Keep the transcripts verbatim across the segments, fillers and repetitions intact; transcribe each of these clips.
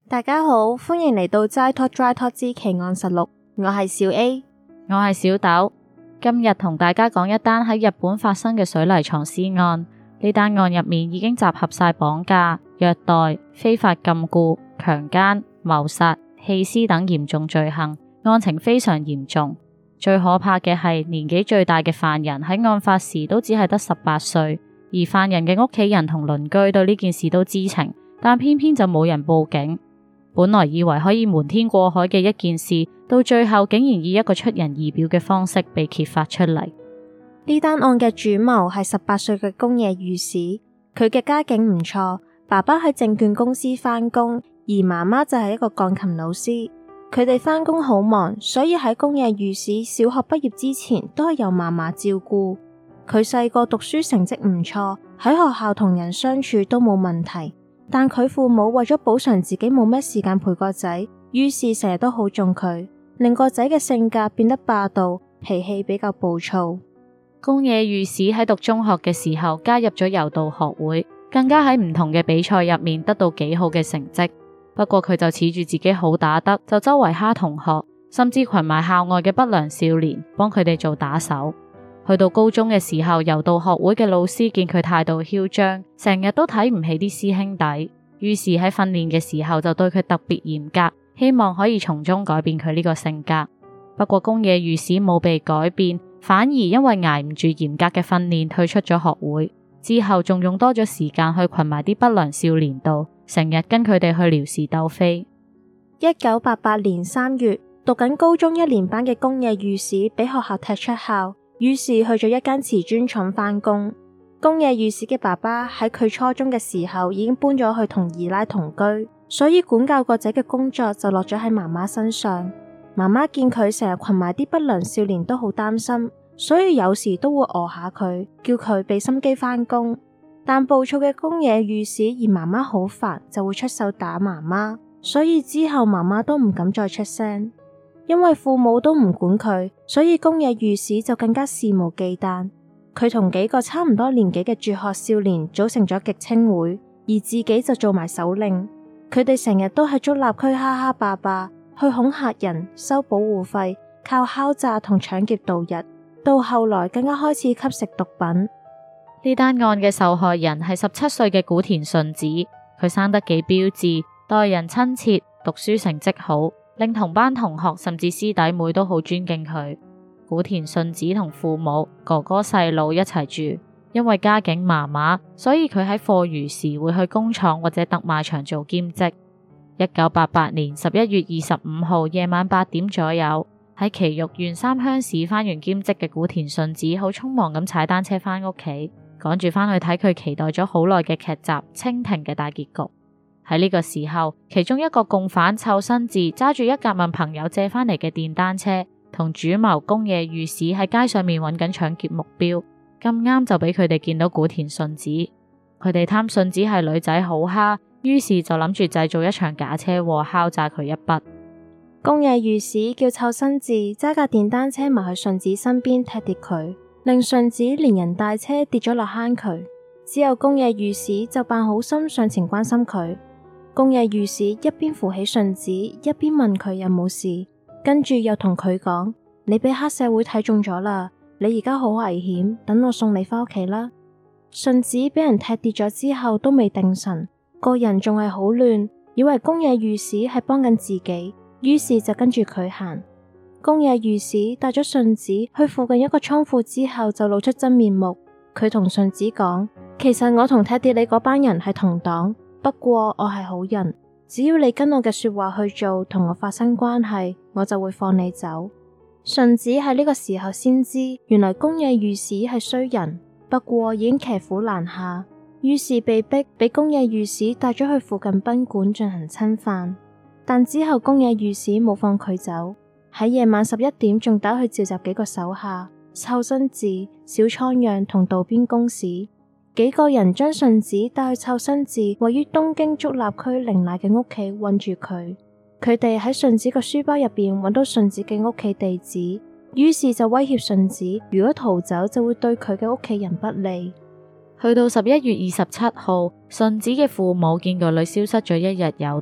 大家好，歡迎嚟到齋拖 Dry Talk 之奇案實錄，我係小 A， 我係小豆。今日同大家講一單喺日本發生嘅水泥藏屍案。呢單案入面已經集合晒綁架、虐待、非法禁錮、強姦、謀殺、棄屍等嚴重罪行，案情非常嚴重。最可怕嘅係年紀最大嘅犯人喺案發時都只係得十八歲，而犯人嘅屋企人同鄰居對呢件事都知情，但偏偏就冇人報警。本來以為可以瞞天過海嘅一件事，到最後竟然以一個出人意表嘅方式被揭發出嚟。 呢單案嘅主謀係十八歲嘅宮野裕史，佢嘅家境唔錯，爸爸喺證券公司返工，而媽媽就係一個鋼琴老師。佢哋返工好忙，所以喺宮野裕史小學畢業之前都係由嫲嫲照顧。佢細個讀書成績唔錯，喺學校同人相處都冇問題。但佢父母為咗補償自己冇咩時間陪個仔，於是成日都好縱佢，令個仔嘅性格變得霸道，脾氣比較暴躁。 宮野裕史喺讀中學嘅時候加入咗柔道學會，更加喺唔同嘅比賽入面得到幾好嘅成績。不過佢就恃住自己好打得，就周圍蝦同學，甚至群埋校外嘅不良少年，幫佢哋做打手。去到高中嘅時候，柔道學會嘅老師見佢態度囂張，成日都睇唔起啲師兄弟，於是喺訓練嘅時候就對佢特別嚴格，希望可以從中改變佢呢個性格。不過宮野裕史冇被改變，反而因為捱唔住嚴格嘅訓練退出咗學會，之後仲用多咗時間去群埋啲不良少年度，成日跟佢哋去撩事鬥非。 一九八八年三月，讀緊高中一年班嘅宮野裕史俾學校踢出校，於是去咗一間瓷磚廠返工。宮野裕史嘅爸爸喺佢初中嘅時候已經搬咗去同二奶同居，所以管教個仔嘅工作就落咗喺媽媽身上。媽媽見佢成日群埋啲不良少年都好擔心，所以有時都會餓下佢，叫佢俾心機返工。但暴躁嘅宮野裕史嫌媽媽好煩，就會出手打媽媽，所以之後媽媽都唔敢再出聲。因為父母都唔管佢，所以宮野裕史就更加肆無忌憚。佢同幾個差唔多年紀嘅輟學少年組成咗極青會，而自己就做埋首領。佢哋成日都喺竹立區哈哈霸霸，去恐嚇人、收保護費，靠敲詐同搶劫度日。到後來更加開始吸食毒品。 呢單案嘅受害人係十七歲嘅古田順子，佢生得幾標緻，待人親切，讀書成績好，令同班同學甚至師弟妹都好尊敬佢。古田順子同父母、哥哥細佬一齊住，因為家境麻麻，所以佢喺課餘時會去工廠或者特賣場做兼職。一九八八年十一月二十五號夜晚八點左右，喺埼玉縣三鄉市返完兼職嘅古田順子好匆忙咁踩單車返屋企，趕住返去睇佢期待咗好耐嘅劇集《蜻蜓》嘅大結局。喺呢個時候，其中一個共犯湊伸治揸住一架問朋友借返嚟嘅電單車，同主謀宮野裕史喺街上面揾緊搶劫目標，咁啱就俾佢哋見到古田順子。佢哋貪順子係女仔好蝦，於是就諗住製造一場假車禍，敲詐佢一筆。 宮野裕史叫湊伸治揸架電單車埋去順子身邊踢跌佢，令順子連人帶車跌咗落坑渠。之後宮野裕史就扮好心上前關心佢。宮野裕史一邊扶起順子，一邊問佢有冇事，跟住又同佢講：你俾黑社會睇中咗啦，你而家好危險，等我送你返屋企啦。順子俾人踢跌咗之後都未定神，個人仲係好亂，以為宮野裕史係幫緊自己，於是就跟住佢行。宮野裕史帶咗順子去附近一個倉庫之後，就露出真面目。佢同順子講：其實我同踢跌你嗰班人係同黨。不過我係好人，只要你跟我嘅說話去做，同我發生關係，我就會放你走。順子喺呢個時候先知，原來宮野裕史係衰人，不過已經騎虎難下，於是被逼俾宮野裕史帶咗去附近賓館進行侵犯。但之後宮野裕史冇放佢走，喺夜晚十一點仲打去召集幾個手下，湊伸治、小倉讓同渡邊公使。幾個人將順子帶去湊伸治位於東京足立區綾瀨嘅屋企，困住佢。佢哋喺順子個書包入邊揾到順子嘅屋企地址，於是就威脅順子，如果逃走就會對佢嘅屋企人不利。 去到十一月二十七號，順子嘅父母見個女消失咗一日有多，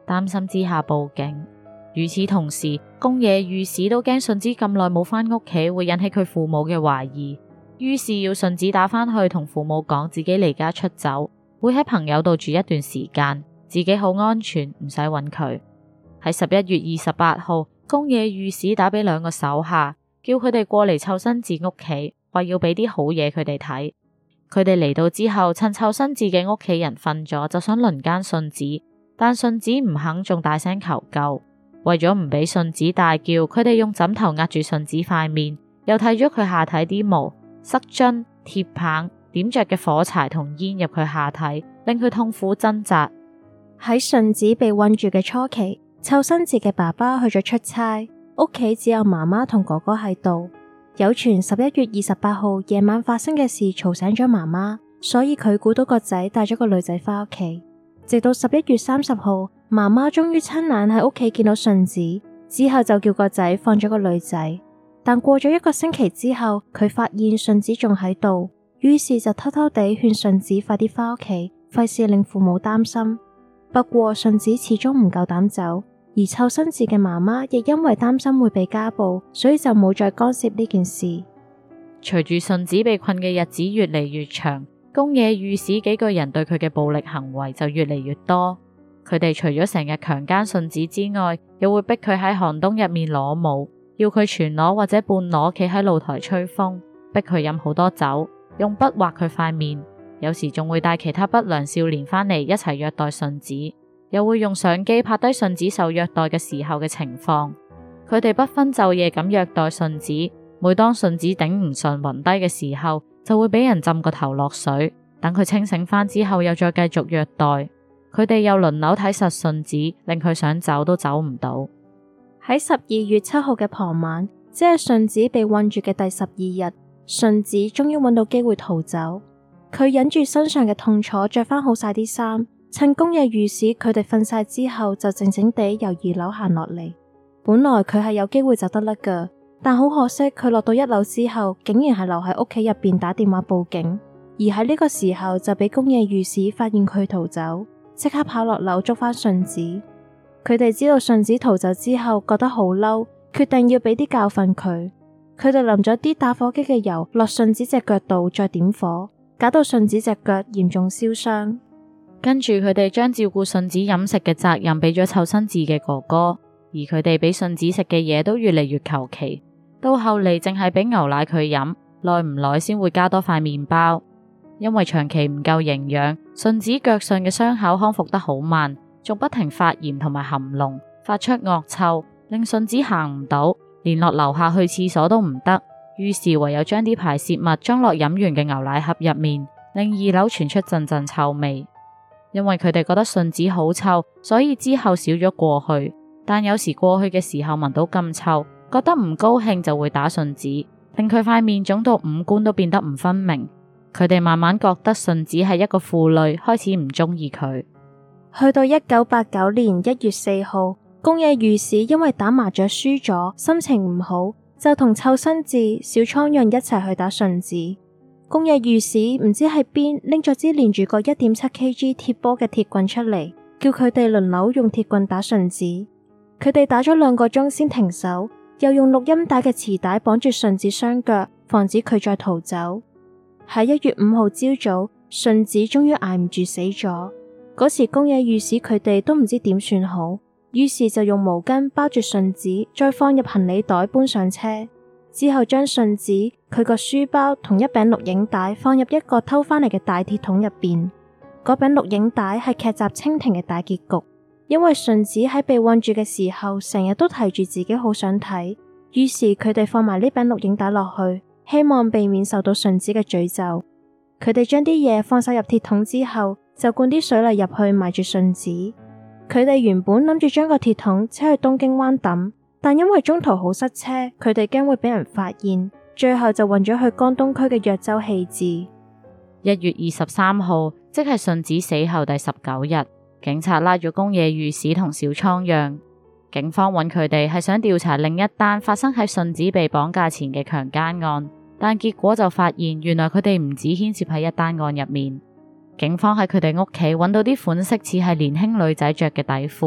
擔心之下報警。與此同時，宮野裕史都驚順子咁耐冇返屋企會引起佢父母嘅懷疑，於是要順子打返去同父母講自己離家出走，會喺朋友度住一段時間，自己好安全，唔使揾佢。喺十一月二十八號，宮野裕史打俾兩個手下，叫佢哋過嚟湊伸治屋企，話要俾啲好嘢佢哋睇。佢哋嚟到之後，趁湊伸治嘅屋企人瞓咗，就想輪姦順子，但順子唔肯，仲大聲求救。為咗唔俾順子大叫，佢哋用枕頭壓住順子塊面，又剃咗佢下體啲毛，塞樽、鐵棒、點着嘅火柴同煙入佢下體，令佢痛苦掙扎。 喺順子被困住嘅初期，湊伸治嘅爸爸去咗出差，屋企只有媽媽同哥哥喺度。有傳十一月二十八號夜晚發生嘅事嘈醒咗媽媽，所以佢估到個仔帶咗個女仔返屋企。直到十一月三十號，媽媽終於親眼喺屋企見到順子，之後就叫個仔放咗個女仔。但過咗一個星期之後，佢發現順子仲喺度，於是就偷偷地勸順子快啲返屋企，費事令父母擔心。不過順子始終唔夠膽走，而湊伸治嘅媽媽亦因為擔心會被家暴，所以就冇再干涉呢件事。 隨住順子被困嘅日子越嚟越長，宮野裕史幾個人對佢嘅暴力行為就越嚟越多。佢哋除咗成日強姦順子之外，又會逼佢喺寒冬入面裸舞，要佢全裸或者半裸企喺露台吹風，逼佢飲好多酒，用筆畫佢塊面，有時仲會帶其他不良少年返嚟一齊虐待順子，又會用相機拍低順子受虐待嘅時候嘅情況。佢哋不分晝夜咁虐待順子，每當順子頂唔順暈低嘅時候，就會俾人浸個頭落水，等佢清醒返之後又再繼續虐待。佢哋又輪流睇實順子，令佢想走都走唔到。 喺十二月七號嘅傍晚，即係順子被困住嘅第十二日，順子終於揾到機會逃走。佢忍住身上嘅痛楚，着返好晒啲衫，趁宮野裕史佢哋瞓晒之後，就靜靜地由二樓行落嚟。本來佢係有機會走得甩㗎，但好可惜，佢落到一樓之後，竟然係留喺屋企入邊打電話報警，而喺呢個時候就俾宮野裕史發現佢逃走。即刻跑落樓捉返順子。佢哋知道順子逃走之後，覺得好嬲，決定要俾啲教訓佢。佢哋淋咗啲打火機嘅油落順子隻腳度，再點火，搞到順子隻腳嚴重燒傷。 跟住佢哋將照顧順子飲食嘅責任俾咗湊伸治嘅哥哥，而佢哋俾順子食嘅嘢都越嚟越求其，到後嚟淨係俾牛奶佢飲，耐唔耐先會加多塊麵包。因為長期唔夠營養，順子腳上嘅傷口康復得好慢，仲不停發炎同埋含膿，發出惡臭，令順子行唔到，連落樓下去廁所都唔得。於是唯有將啲排泄物裝落飲完嘅牛奶盒入面，令二樓傳出陣陣臭味。因為佢哋覺得順子好臭，所以之後少咗過去。但有時過去嘅時候聞到咁臭，覺得唔高興就會打順子，令佢塊面腫到五官都變得唔分明。佢哋慢慢覺得順子係一個負累，開始唔中意佢。 去到一九八九年一月四號，宮野裕史因為打麻雀輸咗，心情唔好，就同湊伸治、小倉讓一齊去打順子。宮野裕史唔知喺邊拎咗支連住個一點七 K G 鐵波嘅鐵棍出嚟，叫佢哋輪流用鐵棍打順子。佢哋打咗兩個鐘先停手，又用錄音帶嘅臍帶綁住順子雙腳，防止佢再逃走。喺一月五號朝早，順子終於挨唔住死咗。嗰時宮野裕史佢哋都唔知點算好，於是就用毛巾包住順子，再放入行李袋搬上車。之後將順子佢個書包同一餅錄影帶放入一個偷返嚟嘅大鐵桶入邊。嗰餅錄影帶係劇集蜻蜓嘅大結局，因為順子喺被困住嘅時候，成日都提住自己好想睇，於是佢哋放埋呢餅錄影帶落去，希望避免受到順子嘅詛咒。佢哋將啲嘢放晒入鐵桶之後，就灌啲水泥入去埋住順子。佢哋原本諗住將個鐵桶車去東京灣抌，但因為中途好塞車，佢哋驚會俾人發現，最後就運咗去江東區嘅藥洲棄置。 一月二十三號，即係順子死後第十九日，警察拉咗宮野裕史同小倉讓。警方揾佢哋係想調查另一單發生喺順子被綁架前嘅強姦案，但結果就發現原來佢哋唔止牽涉喺一單案入面。警方喺佢哋屋企揾到啲款式似係年輕女仔着嘅底褲，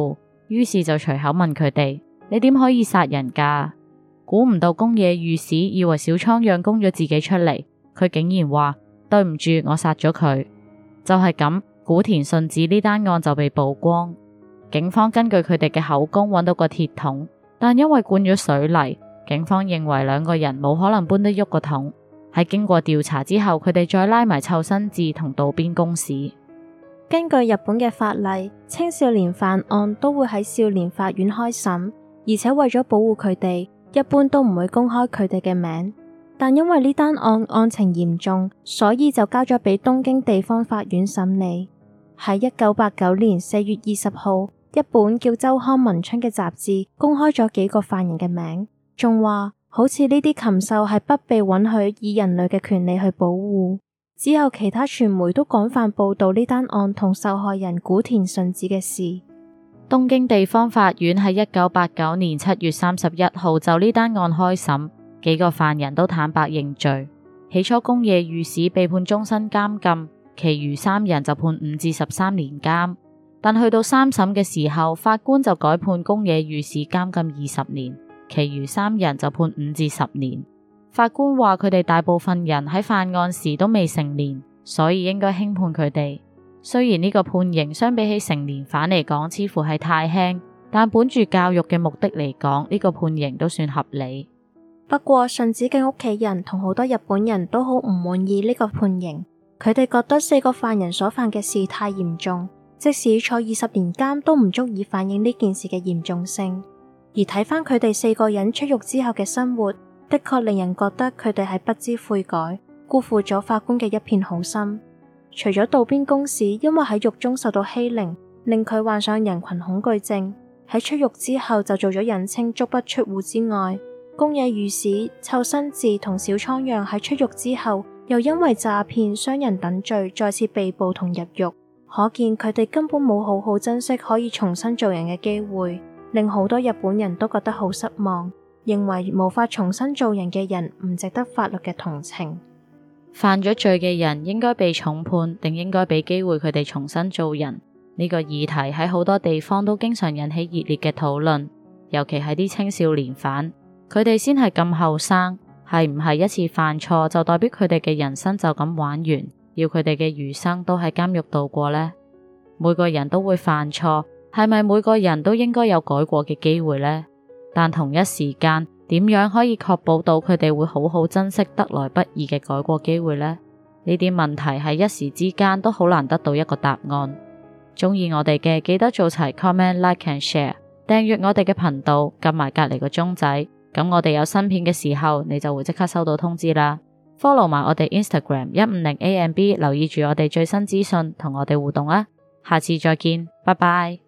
於是就隨口問佢哋：你點可以殺人㗎？估唔到宮野御史以為小倉讓供咗自己出嚟，佢竟然話：對唔住，我殺咗佢。就係咁，古田順子呢單案就被曝光。警方根據佢哋嘅口供揾到個鐵桶，但因為灌咗水泥，警方認為兩個人冇可能搬得喐個桶。喺經過調查之後，佢哋再拉埋湊新志同渡邊公使。 根據日本嘅法例，青少年犯案都會喺少年法院開審，而且為咗保護佢哋，一般都唔會公開佢哋嘅名。但因為呢單案案情嚴重，所以就交咗俾東京地方法院審理。喺一九八九年四月二十號，一本叫《週刊文春》嘅雜誌公開咗幾個犯人嘅名，仲話好似呢啲禽獸係不被允許以人類嘅權利去保護。之後其他傳媒都廣泛報道呢單案同受害人古田順子嘅事。 東京地方法院喺一九八九年七月三十一號就呢單案開審，幾個犯人都坦白認罪。起初宮野御史被判終身監禁，其餘三人就判五至十三年監。但去到三審嘅時候，法官就改判宮野御史監禁二十年，其餘三人就判五至十年。法官話佢哋大部分人喺犯案時都未成年，所以應該輕判佢哋。雖然呢個判刑相比起成年犯嚟講似乎係太輕，但本住教育嘅目的嚟講，呢個判刑都算合理。 不過順子嘅屋企人同好多日本人都好唔滿意呢個判刑，佢哋覺得四個犯人所犯嘅事太嚴重，即使坐二十年監都唔足以反映呢件事嘅嚴重性。而睇返佢哋四個人出獄之後嘅生活，的確令人覺得佢哋係不知悔改，辜負咗法官嘅一片好心。除咗渡邊公使因為喺獄中受到欺凌，令佢患上人群恐懼症，喺出獄之後就做咗人稱足不出戶之外，宮野御史、湊新志同小倉讓喺出獄之後，又因為詐騙、傷人等罪再次被捕同入獄，可見佢哋根本冇好好珍惜可以重新做人嘅機會，令好多日本人都覺得好失望。認為無法重新做人嘅人唔值得法律嘅同情。 犯咗罪嘅人應該被重判，定應該俾機會佢哋重新做人？呢個議題喺好多地方都經常引起熱烈嘅討論，尤其係啲青少年犯，佢哋先係咁後生，係唔係一次犯錯就代表佢哋嘅人生就咁玩完，要佢哋嘅餘生都喺監獄度過呢？每個人都會犯錯，係咪每個人都應該有改過嘅機會呢？但同一時間，點樣可以確保到佢哋會好好珍惜得來不易嘅改過機會呢？呢啲問題喺一時之間都好難得到一個答案。鍾意我哋嘅記得做齊 comment、like and share， 訂閱我哋嘅頻道，撳埋隔籬個鐘仔，咁我哋有新片嘅時候，你就會即刻收到通知啦。Follow 埋我哋 Instagram 一五零 A M B， 留意住我哋最新資訊，同我哋互動啊！下次再見，拜拜。